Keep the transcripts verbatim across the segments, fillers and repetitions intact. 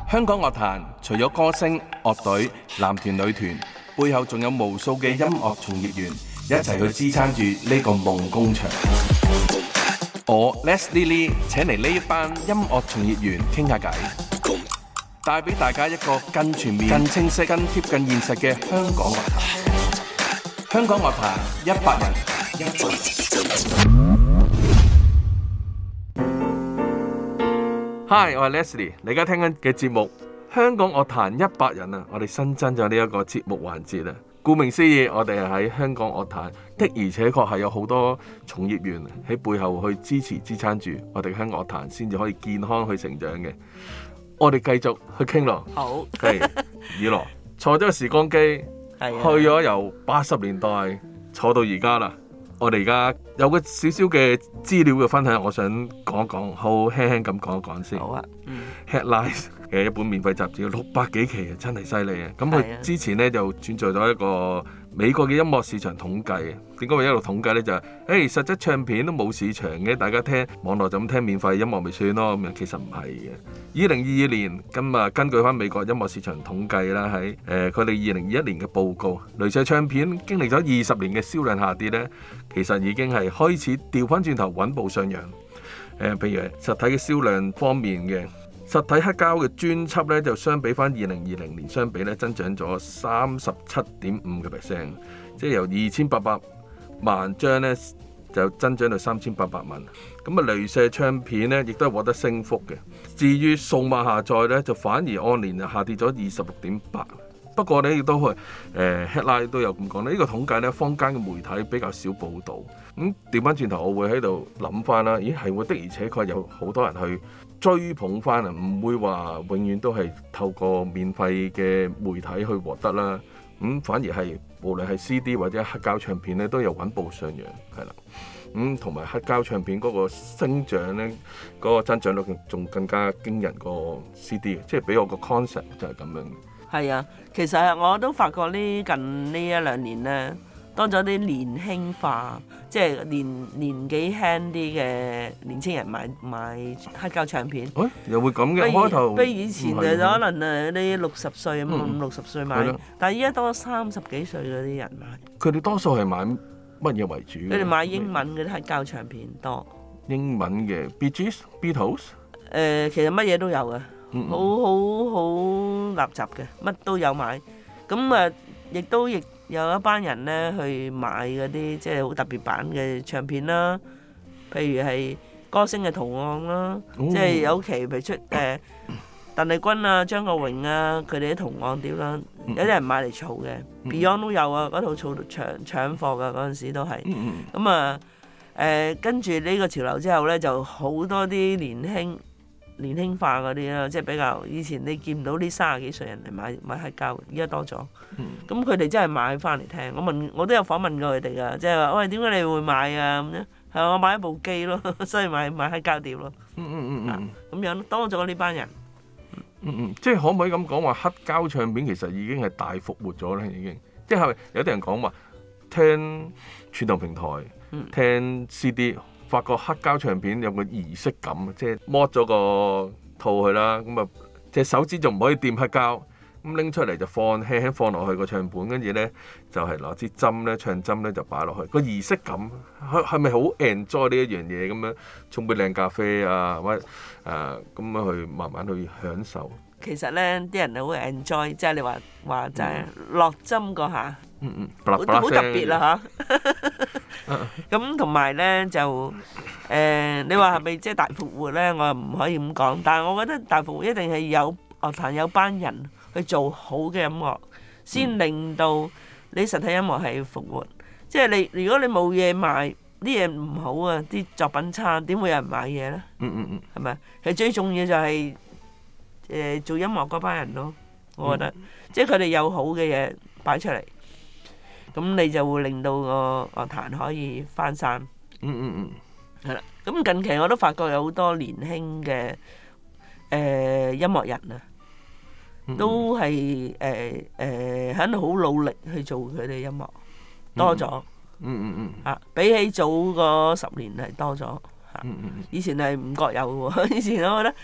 香港樂壇除咗歌星、樂隊、男團、女團，背後仲有無數嘅音樂從業員一齊去支撐住呢個夢工場。我 Leslie Lee 請嚟呢一班音樂從業員傾下偈，帶俾大家一個更全面、更清晰、更貼近現實嘅香港樂壇。香港樂壇一百人，一百人。Hi， 我係 Leslie， 你而家聽緊嘅節目《香港樂壇一百人》啊，我哋新增咗呢一個節目環節啊。顧名思義，我哋係喺香港樂壇的，而且確係有好多從業員喺背後去支持支撐住我哋香港樂壇，先至可以健康去成長嘅。我哋繼續去傾咯。 好， 係以羅坐咗個時光機， 係去咗由八十年代坐到而家啦。我哋而家有個少少嘅資料嘅分享，我想講一講，好輕輕咁講一講先。 好啊，嗯。 Headlines 嘅一本免費雜誌，六百幾期啊，真係犀利啊！咁佢之前咧就轉載咗一個美國嘅音樂市場統計啊。點解會一路統計咧？就係、是，誒實質唱片都冇市場嘅，大家聽網絡就咁聽免費音樂咪算咯。咁樣其實唔係嘅。二零二二年咁啊，根據翻美國音樂市場統計啦，喺誒佢哋二零二一年嘅報告，雷射唱片經歷咗二十年嘅銷量下跌咧，其實已經係開始調翻轉頭穩步上揚。誒、呃，譬如實體嘅銷量方面嘅。實體黑膠嘅專輯咧，就相比翻二零二零年相比咧，增長咗三十七點五個 percent， 即係由二千八百萬張咧，就增長到三千八百萬。咁啊，雷射唱片咧，亦都係獲得升幅嘅。至於數碼下載咧，就反而按年就下跌咗二十六點八。不過咧，亦都係誒 headline 都有咁講咧。呢、這個統計咧，坊間嘅媒體比較少報導。咁調翻轉頭，我會喺度諗翻啦。咦，係喎，的而且確有好多人去追捧翻啊，唔會話永遠都係透過免費嘅媒體去獲得啦。咁、嗯、反而係無論係 C D 或者黑膠唱片咧，都有穩步上揚，係啦。咁同埋黑膠唱片嗰個升長咧，嗰、那個增長率仲更加驚人過 C D， 即係俾我個 concept 就係咁樣。 係啊，其實我都發覺呢近呢一兩年咧，多咗啲年輕化，即係年年紀輕啲嘅年青人買買黑膠唱片。誒、 欸，又會咁嘅開頭？ 比以前就可能誒啲六十歲咁五六十歲買， 嗯、 但係依家多三十幾歲嗰啲人買。佢哋多數係買乜嘢為主？ 佢哋買英文嘅黑膠唱片多。英文嘅 Bee Gees、Beatles？ 誒，其實乜嘢都有嘅。好好好垃圾嘅，乜都有買。咁啊，亦都亦有一班人咧去買嗰啲即係好特別版嘅唱片啦。譬如係歌星嘅圖案啦，哦、即係有期譬如出誒鄧麗君啊、張國榮啊，佢哋啲圖案碟啦，有啲人買嚟儲嘅。嗯、Beyond 都有啊，嗰套儲搶搶貨㗎，嗰陣時都係。咁啊誒，跟住呢個潮流之後咧，就好多啲年輕。年輕化嗰啲啦，即係比較以前你見唔到啲三十幾歲人嚟買買黑膠，而家多咗。咁佢哋真係買翻嚟聽。我問我都有訪問過佢哋噶，即係話喂，點解你會買啊？咁樣係我買一部機咯，所以買買黑膠碟咯。 嗯嗯嗯嗯， 咁樣多咗呢班人。 嗯嗯，即係可唔可以咁講話黑膠唱片其實已經係大復活咗咧？已經即係有啲人講話聽串流平台，嗯、聽 C D。發覺黑膠唱片有個儀式感，即係剝咗個套去啦，咁啊隻手指仲唔可以掂黑膠，咁拎出嚟就放輕輕放落去個唱盤，跟住咧就係攞支針咧唱針咧就擺落去，個儀式感係係咪好 enjoy 呢一樣嘢咁樣？沖杯靚咖啡啊，或者誒咁樣去慢慢去享受。 其實咧啲人好 enjoy，即係你話話就係落針嗰下， 嗯嗯， 好好特別啦嚇。咁同埋咧就誒、呃，你話係咪即係大復活咧？我又唔可以咁講，但係我覺得大復活一定係有樂壇有班人去做好嘅音樂，先令到你實體音樂係復活。即係你如果你冇嘢賣，啲嘢唔好啊，啲作品差，點會有人買嘢咧？ 嗯嗯嗯， 係咪？其實最重要就係、是。誒、呃、做音樂嗰班人咯，我覺得，嗯、即係佢哋有好嘅嘢擺出嚟，咁你就會令到個樂壇可以翻山。 嗯嗯嗯， 係啦，咁近期我都發覺有好多年輕嘅誒、呃、音樂人啊，嗯、都係誒誒喺度好努力去做佢哋音樂，多咗。 嗯嗯嗯。嚇、 啊，比起早個十年係多咗嚇。嗯嗯嗯。以前係唔覺有喎，以前我覺得。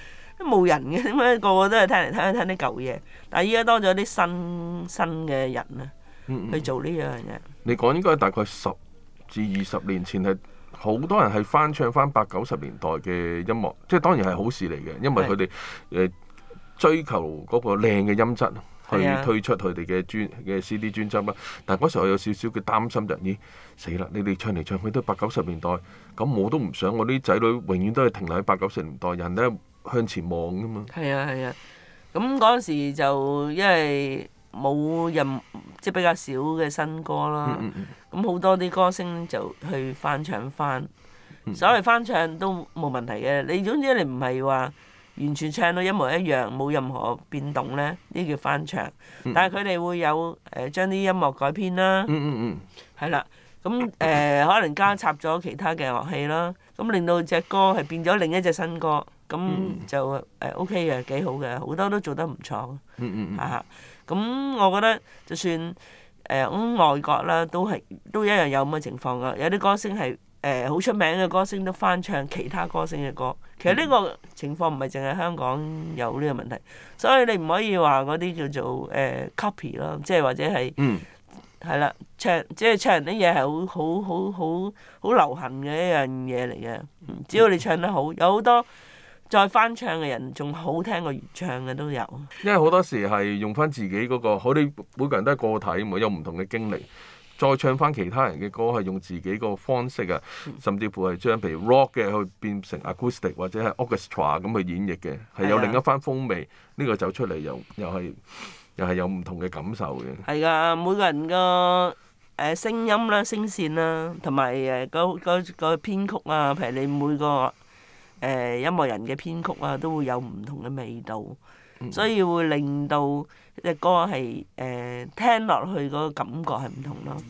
都冇人嘅，點解個個都係聽嚟聽去聽啲舊嘢？但係依家多咗啲新新嘅人啊， 嗯嗯去做呢樣嘢。 你講應該大概十至二十年前係好多人係翻唱翻八九十年代嘅音樂，即係當然係好事嚟嘅，因為佢哋誒追求嗰個靚嘅音質去推出佢哋嘅專嘅 C D 專輯啦。但係嗰時候我有少少嘅擔心就咦死啦！你哋唱嚟唱去都係八九十年代，咁我都唔想我啲仔女永遠都係停留喺八九十年代，人咧向前望噶嘛。 係啊係啊，咁嗰陣時就因為冇任即係比較少嘅新歌啦，咁好、嗯嗯、多啲歌星就去翻唱翻。嗯、所謂翻唱都冇問題嘅，你總之你唔係話完全唱到一模一樣，冇任何變動咧，呢叫翻唱。嗯、但係佢哋會有誒將啲音樂改編啦，係、嗯嗯、啦，咁誒、呃、可能加插咗其他嘅樂器啦，咁令到隻歌係變咗另一隻新歌，咁就誒 O K 嘅，幾好嘅，好多都做得唔錯。嚇、嗯，咁、嗯、我覺得就算誒咁、呃、外國啦，都係都一樣有咁嘅情況噶，有啲歌星係。誒好、呃、出名嘅歌星都翻唱其他歌星嘅歌，其實呢個情況唔係淨係香港有呢個問題，所以你唔可以話嗰啲叫做誒、呃、copy 咯，即係或者係係啦，唱即係唱人啲嘢係好好好好好流行嘅一樣嘢嚟嘅，只要你唱得好，有好多再翻唱嘅人仲好聽過原唱嘅都有。 因為好多時係用翻自己嗰、嗰個，我哋每個人都係個體，冇有唔同嘅經歷。再唱翻其他人嘅歌，係用自己個方式啊，甚至乎係將譬如 rock 嘅去變成 acoustic 或者係 orchestra 咁去演繹嘅，係有另一番風味。呢、呢個走出嚟又又係又係有唔同嘅感受嘅。 係㗎，每個人個誒聲音啦、聲線啦，同埋誒個個個編曲啊，譬如你每個誒、呃、音樂人嘅編曲啊，都會有唔同嘅味道。所以會令到隻歌係誒、呃、聽落去嗰個感覺係唔同咯。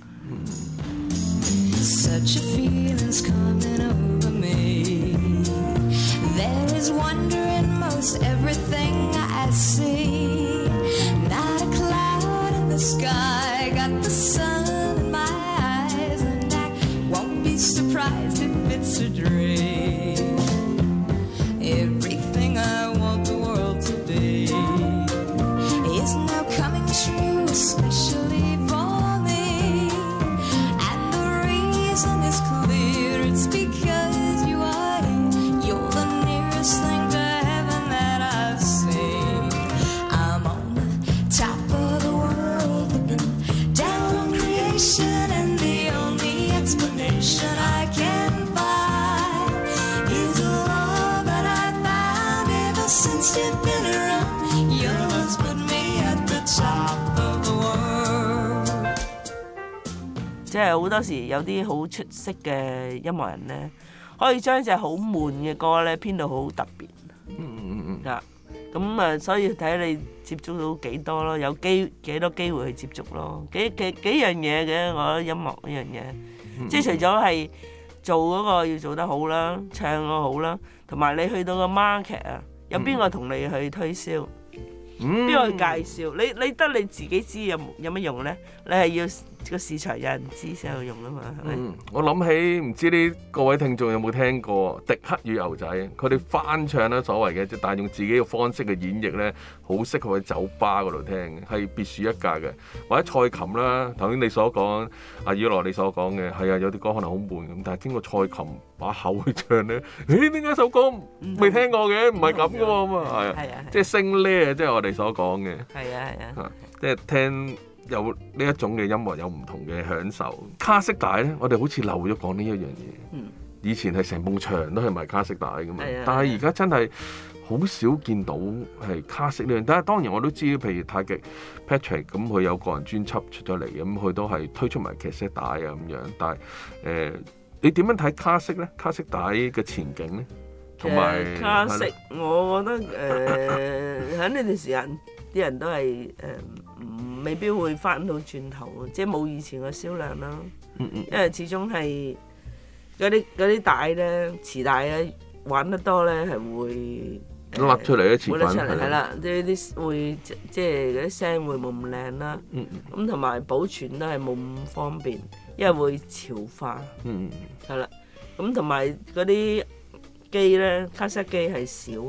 即係好多時有啲好出色嘅音樂人咧，可以將一隻好悶嘅歌咧編到好特別。嗯嗯嗯嗯。咁啊，所以睇你接觸到幾多咯，有機幾多機會去接觸咯，幾幾幾樣嘢嘅，我覺得音樂呢樣嘢，嗯、即係除咗係做嗰個要做得好啦，唱個好啦，同埋你去到個 market 啊，有邊個同你去推銷？邊個去介紹？你你得你自己知有有乜用咧？你係要個市場有人知先有用啊嘛，係咪？ 嗯，我諗起唔知啲各位聽眾有冇聽過《迪克與牛仔》？佢哋翻唱咧所謂嘅，但係用自己嘅方式嘅演繹咧，好適合喺酒吧嗰度聽嘅，係別樹一格嘅。或者蔡琴啦，頭先你所講，阿以羅你所講嘅，係啊，有啲歌可能好悶咁，但係經過蔡琴把口去唱咧，誒點解首歌未聽過嘅？唔係咁嘅喎，咁啊係啊，即係聲咧，即係我哋所講嘅。係啊係啊，即係聽。有呢一種嘅音樂有唔同嘅享受。卡式帶咧，我哋好似漏咗講呢一樣嘢。嗯、以前係成埲牆都係賣卡式帶噶嘛，嗯、但係而家真係好少見到係卡式呢樣。但係當然我都知，譬如太極 Patrick 咁，佢有個人專輯出咗嚟，咁佢都係推出埋卡式帶啊咁樣。但係誒、呃，你點樣睇卡式咧？卡式帶嘅前景咧？同埋、呃、 卡式，的我覺得誒喺呢段時間啲人都係誒。呃未必會翻到轉頭，即係冇以前嘅銷量啦。嗯嗯，因為始終係嗰啲嗰啲帶咧，磁帶咧玩得多咧係會甩出嚟一次， 會甩出嚟係啦，即係啲會即係嗰啲聲會冇咁靚啦。嗯嗯，咁同埋保存都係冇咁方便，因為會潮化。嗯嗯，係啦，咁同埋嗰啲機咧，卡式機係少咯。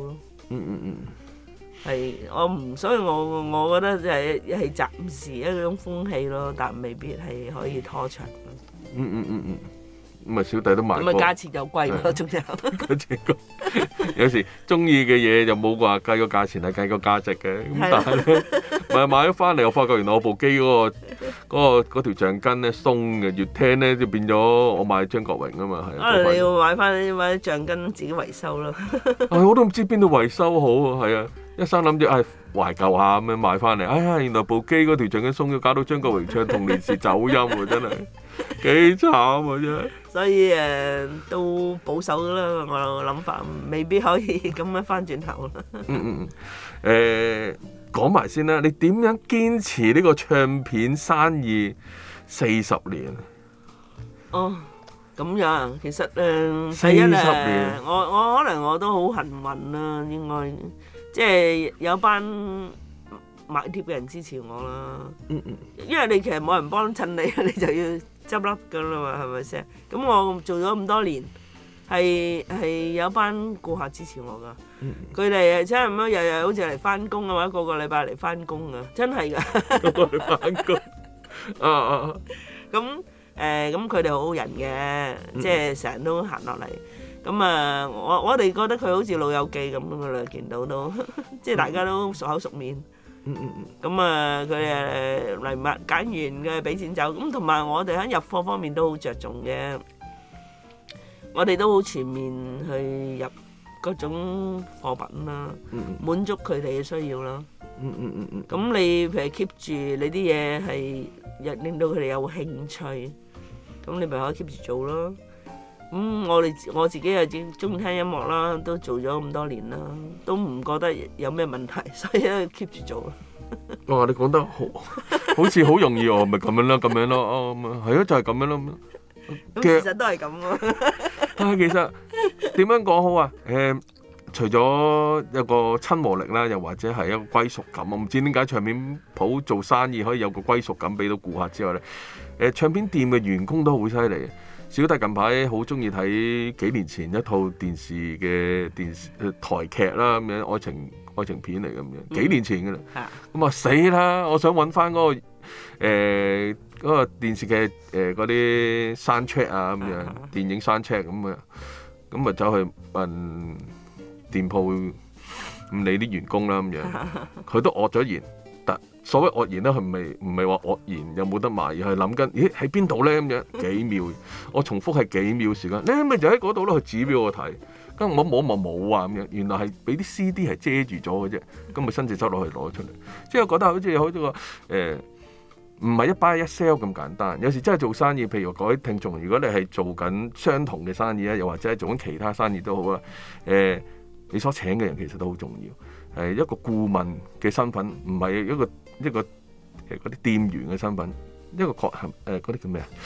嗯嗯嗯。 係我唔，所以我我覺得就係係暫時一種風氣咯，但未必係可以拖長。 嗯嗯嗯嗯。咁啊，小弟都買過。 咁啊，價錢又貴咯，仲有。 價錢高，有時中意嘅嘢就冇話計個價錢，係計個價值嘅。咁但係咧，咪買咗翻嚟，我發覺原來我部機嗰個嗰個嗰條橡筋咧鬆嘅，越聽咧就變咗我買張國榮啊嘛，係。 可能你要買翻啲買啲橡筋自己維修咯。 係，我都唔知邊度維修好啊，係啊，一生諗住唉懷舊下咁樣買翻嚟，哎呀原來部機嗰條橡筋鬆咗，搞到張國榮唱《童年時》走音喎，真係幾慘啊真係。 所以誒、呃、都保守啦，我諗法未必可以咁樣翻轉頭啦。 嗯嗯嗯，誒講埋先啦，你點樣堅持呢個唱片生意四十年？ 哦，咁樣其實誒，呃、 四十年， 我我可能我都好幸運啦，應該即係有班買碟嘅人支持我啦。嗯嗯，因為你其實冇人幫襯你，你就要執笠噶啦嘛，係咪先？咁我做咗咁多年，係係有班顧客支持我噶。佢哋誒真係咁樣，日日好似嚟翻工啊，或者個個禮拜嚟翻工啊，真係㗎。 個個嚟翻工。啊啊！ 咁誒咁佢哋好好人嘅，即係成日都行落嚟。咁啊，我我哋覺得佢好似老友記咁噶啦，見到都即係大家都熟口熟面。嗯嗯嗯，咁啊，佢誒嚟買揀完嘅俾錢走，咁同埋我哋喺入貨方面都好着重嘅，我哋都好全面去入各種貨品啦，滿足佢哋嘅需要啦。嗯嗯嗯嗯，咁你譬如 keep 住你啲嘢係令到佢哋有興趣，咁你咪可以 keep 住做咯。咁我哋我自己又中意聽音樂啦，都做咗咁多年啦，都唔覺得有咩問題，所以咧 keep 住做咯。 哇！你講得好，好似好容易喎，咪咁樣咯，咁樣咯，哦，咁啊，係咯，就係咁樣咯。 咁其實都係咁喎。 但係其實點樣講好啊？誒，除咗有個親和力啦，又或者係一個歸屬感，我唔知點解唱片鋪做生意可以有個歸屬感俾到顧客之外咧，誒，唱片店嘅員工都好犀利。小弟近排好中意睇幾年前一套電視嘅電視台劇啦，咁樣愛情愛情片嚟咁樣，幾年前嘅啦。咁啊死啦！我想揾翻嗰個誒嗰、呃嗰個電視劇誒嗰啲 soundtrack 啊咁樣，啊、電影 soundtrack 咁啊，咁啊走去問店鋪唔理啲員工啦咁樣，佢都愕咗言。所謂愕然咧，佢唔係唔係話愕然有冇得賣，而係諗緊，咦喺邊度咧咁樣幾秒，我重複係幾秒時間，你咪就喺嗰度咯，佢指俾我睇，跟住我摸摸冇啊咁樣，原來係俾啲 C D 係遮住咗嘅啫，咁咪伸隻手落去攞出嚟，即係我覺得好似好似個誒唔係一 buy 一 sell 咁簡單，有時真係做生意，譬如各位聽眾，如果你係做緊相同嘅生意咧，又或者係做緊其他生意都好啦，誒、呃、你所請嘅人其實都好重要，係一個顧問嘅身份，唔係一個。一個誒嗰啲店員嘅身份，一個確係誒嗰啲叫咩啊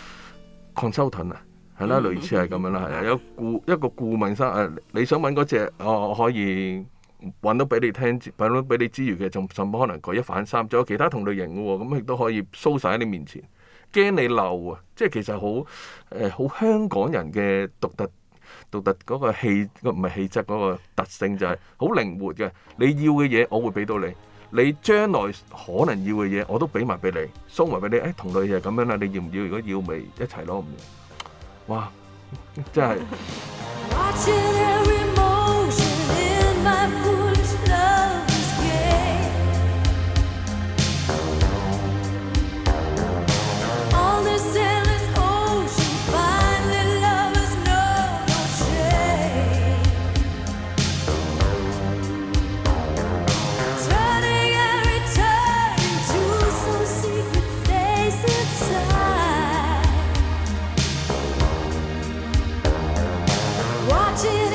consultant 啊，係啦，類似係咁樣啦，係啊，有顧一個顧問生誒、呃，你想揾嗰隻，我可以揾到俾你聽，揾到俾你之餘嘅，仲甚至可能舉一反三，仲有其他同類型嘅喎，咁亦都可以 show 曬喺你面前，驚你漏啊！即係其實好誒好香港人嘅獨特獨特嗰個氣，唔係氣質嗰個特性就係好靈活嘅，你要嘅嘢我會俾到你。你將來可能要嘅嘢，我都俾埋俾你，送埋俾你。誒、哎，同類就係咁樣啦，你要唔要？如果要，咪一齊攞。哇！真係。 Watching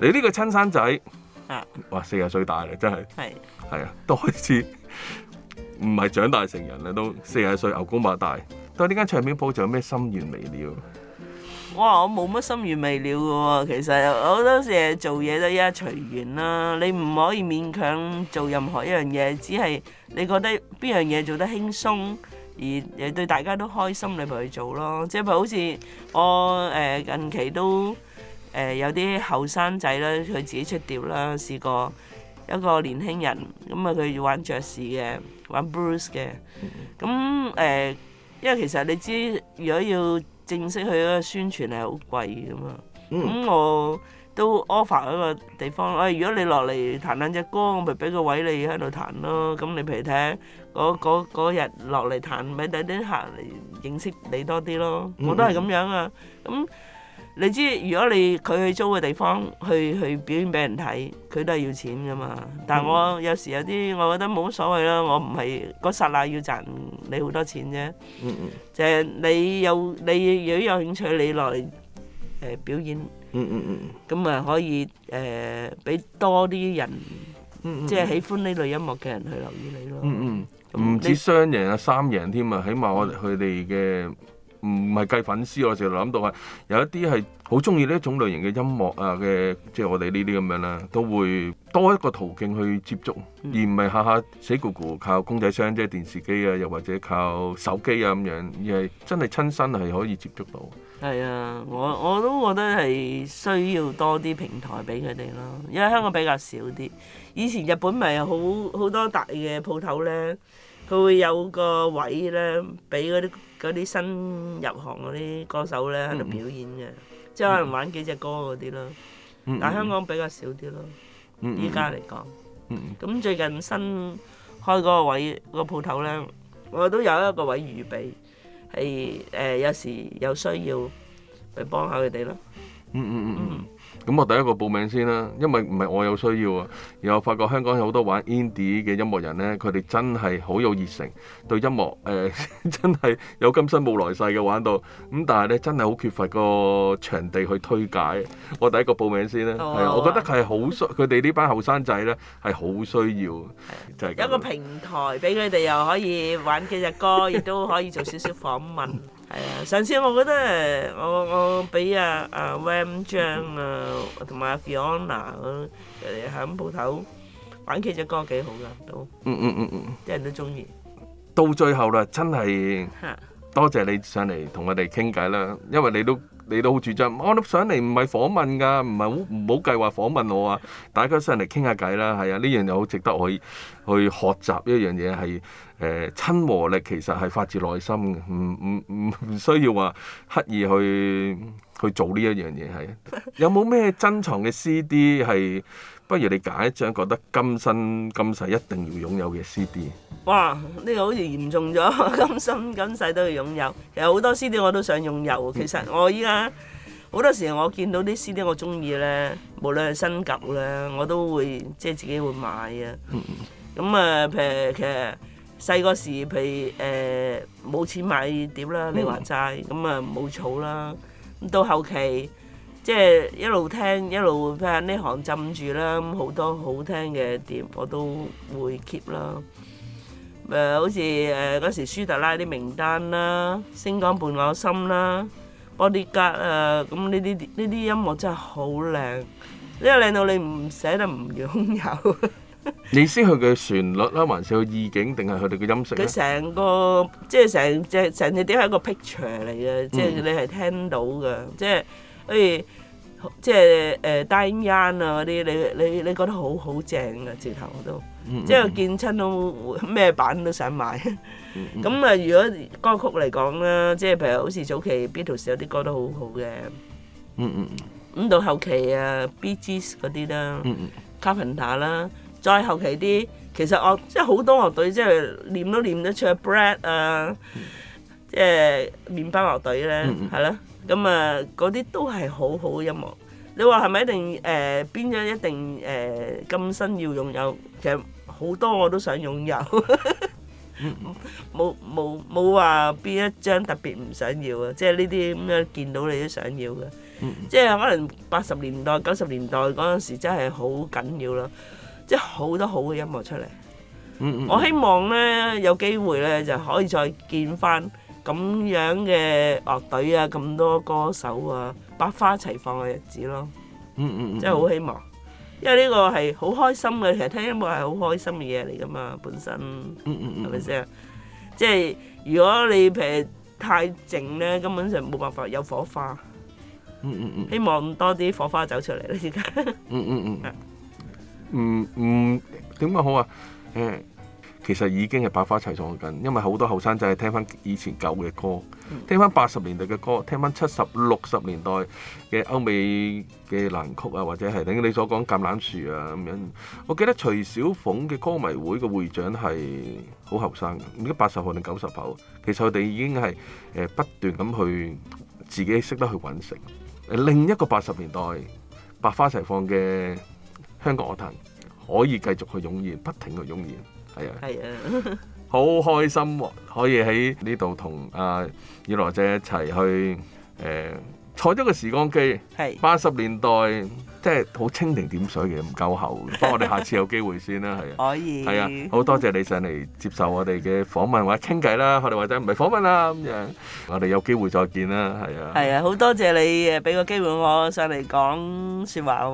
你呢個親生仔， 啊， 哇四十歲大啦，真係係係啊，都開始唔係長大成人啦，都四十歲牛高馬大。對呢間唱片鋪仲有咩心願未了？ 哇！我冇乜心願未了嘅喎，其實好多時做嘢都一隨緣啦。你唔可以勉強做任何一樣嘢，只係你覺得邊樣嘢做得輕鬆，而誒對大家都開心，你咪去做咯。即係譬如好似我誒近期都誒有啲後生仔啦，佢自己出碟啦，試過一個年輕人咁啊，佢要玩爵士嘅，玩 blues 嘅，咁誒，因為其實你知如果要正式去嗰個宣傳係好貴噶嘛，咁、嗯、我都 offer 一個地方，誒、哎、如果你落嚟彈兩隻歌，我咪俾個位你喺度彈咯。咁你譬如睇下嗰日落嚟彈，俾第啲客嚟認識你多啲咯。我都係咁樣啊。咁你知如果你佢去租嘅地方去去表演俾人睇，佢都係要錢噶嘛。但係我有時有啲我覺得冇乜所謂啦，我唔係嗰剎那要賺你好多錢啫。 嗯嗯就係你有你如果有興趣，你落嚟誒表演， 嗯嗯嗯咁啊可以誒俾、呃、多啲人， 嗯嗯即係喜歡呢類音樂嘅人去留意你咯。 嗯嗯，唔止雙贏啊，三贏添啊！起碼我佢哋嘅唔係計粉絲，我成日諗到係有一啲係好中意呢一種類型嘅音樂啊嘅，即係我哋呢啲咁樣啦，都會多一個途徑去接觸， 嗯、 而唔係下下死咕咕靠公仔箱即係電視機啊，又或者靠手機啊咁樣，而係真係親身係可以接觸到。 係啊，我我都覺得係需要多啲平台俾佢哋咯，因為香港比較少啲。以前日本咪好好多大嘅鋪頭咧，佢會有個位咧，俾嗰啲嗰啲新入行嗰啲歌手咧喺度表演嘅，嗯、即係可能玩幾隻歌嗰啲咯。嗯、但係香港比較少啲咯，依家嚟講。咁、嗯嗯、最近新開嗰個位、嗰個鋪頭咧，我都有一個位預備。係誒、呃，有時有需要咪幫下佢哋咯。 嗯嗯嗯嗯。咁我第一個報名先啦，因為唔係我有需要啊，而我發覺香港有好多玩 indie 嘅音樂人咧，佢哋真係好有熱誠，對音樂誒、呃、真係有今生冇來世嘅玩到。咁但係咧真係好缺乏個場地去推介。我第一個報名先啦，係啊、哦，我覺得係好需，佢哋呢班後生仔咧係好需要，就係、是、 有一個平台俾佢哋又可以玩幾隻歌，亦都可以做少少訪問。係啊，上次我覺得我我俾阿阿 Wam 張啊同埋阿 Fiona 佢哋喺鋪頭玩幾隻歌幾好噶都， 嗯嗯嗯嗯， 啲人都中意。 到最後啦，真係多謝你上嚟同我哋傾偈啦，因為你都你都好主張，我都上嚟唔係訪問㗎，唔係好唔好計劃訪問我啊，大家上嚟傾下偈啦，係啊，呢樣又好值得我去去學習一樣嘢係。誒親和力其實係發自內心嘅，唔唔唔唔需要話刻意去去做呢一樣嘢係。有冇咩珍藏嘅 C D 係？不如你揀一張覺得今生今世一定要擁有嘅 C D。 哇！呢、這個好似嚴重咗，今生今世都要擁有。其實好多 C D 我都想擁有。其實我依家好多時我見到啲 C D 我中意咧，無論係新舊咧，我都會即係自己會買啊。咁啊、嗯，譬如其實。細個時，譬如誒冇、呃、錢買碟啦，你話齋，咁啊冇儲啦。咁到後期，即係一路聽一路譬如呢行浸住啦，咁好多好聽嘅碟我都會 keep 啦。誒、呃、好似誒嗰時舒特拉啲名單啦，星光伴我心啦，Bodyguard 啊，咁呢啲呢啲音樂真係好靚，呢個靚到你唔捨得唔擁有。 你先佢嘅旋律啦，還是佢意境，定係佢哋嘅音色咧？ 佢成個即係成隻成隻碟係一個 picture 嚟嘅，即係你係聽到嘅，即係好似即係誒 Diane Young 啊嗰啲，你你你覺得好好正嘅，直頭都，嗯、即係見親都咩版都想買。咁啊、嗯，如果歌曲嚟講啦，即係譬如好似早期 Beatles 有啲歌都好好嘅。 嗯嗯咁到後期啊 Bee Gees 嗰啲啦、嗯嗯、Carpenter 啦。再後期啲，其實樂即係好多樂隊，即係念都念得出 Brad 啊，嗯、即係麵包樂隊咧，係咯、嗯，咁啊嗰啲都係好好嘅音樂。你話係咪一定誒邊樣一定誒今生要擁有？其實好多我都想擁有，冇冇冇話邊一張特別唔想要啊！即係呢啲咁樣見到你都想要嘅。 嗯、 即係可能八十年代、九十年代嗰陣時真係好緊要咯，即係好多好嘅音樂出嚟。 嗯嗯、 我希望咧有機會咧就可以再見翻咁樣嘅樂隊啊，咁多歌手啊，百花齊放嘅日子咯。 嗯嗯嗯、 真係好希望，因為呢個係好開心嘅，其實聽音樂係好開心嘅嘢嚟噶嘛，本身係咪先？即係如果你譬如太靜咧，根本上冇辦法有火花。 嗯嗯嗯、 希望多啲火花走出嚟啦，而家。 嗯嗯嗯。嗯嗯，點講好啊？誒，其實已經係百花齊放緊，因為好多後生仔係聽翻以前舊嘅歌，嗯、聽翻八十年代嘅歌，聽翻七十六十年代嘅歐美嘅爛曲啊，或者係等你所講橄欖樹啊咁樣。我記得徐小鳳嘅歌迷會嘅會長係好後生嘅，唔知八十後定九十後。其實佢哋已經係誒不斷咁去自己識得去揾食。另一個八十年代百花齊放嘅香港樂壇可以繼續去湧現，不停去湧現，係啊，係啊，好開心喎！可以喺呢度同阿以羅姐一齊去誒、呃、坐咗個時光機，係八十年代。即係好蜻蜓點水嘅，唔夠喉。不過我哋下次有機會先啦，係啊，可以，係啊，好多謝你上嚟接受我哋嘅訪問或者傾偈啦，我哋或者唔係訪問啦咁樣，我哋有機會再見啦，係啊，係啊，好多謝你誒俾個機會我上嚟講説話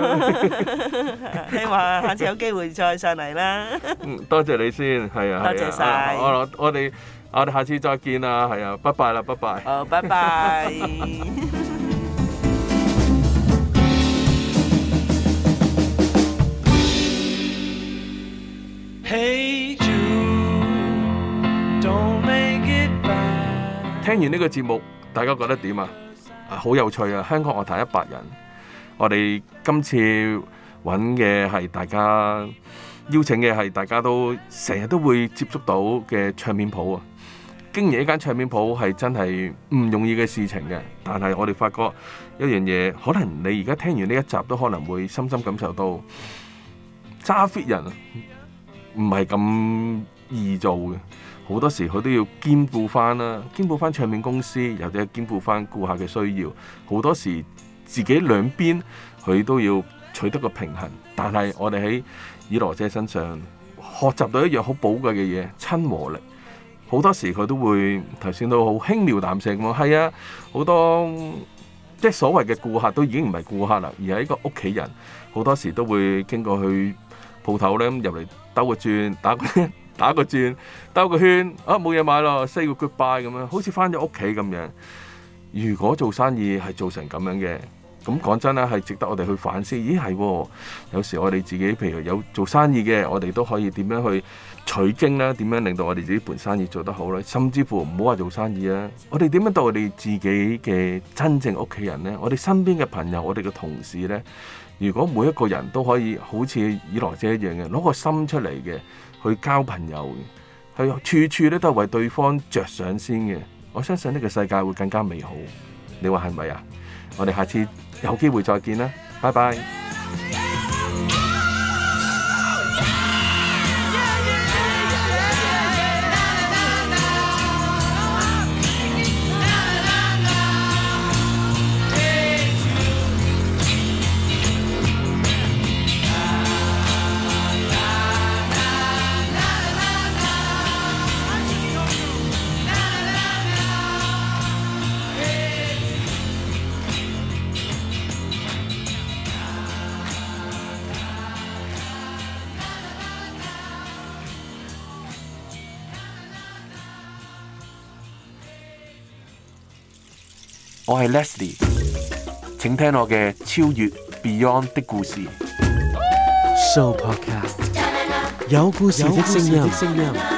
喎，希望下次有機會再上嚟啦。嗯，多謝你先，係啊，多謝晒。我我哋我哋下次再見啦，係啊，拜拜啦，拜拜。好，拜拜。Hey Jude, don't make it bad. 聽完呢個節目，大家覺得點啊？啊，好有趣啊！香港樂壇一百人，我哋今次揾嘅係大家邀請嘅係大家都成日都會接觸到嘅唱片鋪啊！經營一間唱片鋪係真係唔容易嘅事情嘅，但係我哋發覺一樣嘢，可能你而家聽完呢一集都可能會深深感受到揸 fit 人唔係咁易做嘅，好多時佢都要兼顧翻啦，兼顧翻唱片公司，或者兼顧翻顧客嘅需要。好多時自己兩邊佢都要取得個平衡。但係我哋喺以羅姐身上學習到一樣好寶貴嘅嘢，親和力。好多時佢都會頭先都好輕描淡寫咁話，係啊，好多即係所謂嘅顧客都已經唔係顧客啦，而係一個屋企人。好多時都會經過去鋪頭咧，入嚟兜個轉，打個打個轉，兜個圈，啊冇嘢買咯，say 個 goodbye 咁樣，好似翻咗屋企咁樣。如果做生意係做成咁樣嘅，咁講真啦，係值得我哋去反思。咦係喎，有時我哋自己譬如有做生意嘅，我哋都可以點樣去取經啦？點樣令到我哋自己盤生意做得好咧？甚至乎唔好話做生意啊，我哋點樣對我哋自己嘅真正屋企人咧？我哋身邊嘅朋友，我哋嘅同事咧？如果每一個人都可以好似以羅姐一樣嘅，攞個心出嚟嘅去交朋友嘅，去處處咧都係為對方着想先嘅，我相信呢個世界會更加美好。你話係咪啊？我哋下次有機會再見啦，拜拜。我係 Leslie， 請聽我嘅超越 Beyond 的故事。 Show Podcast 有故事的聲音。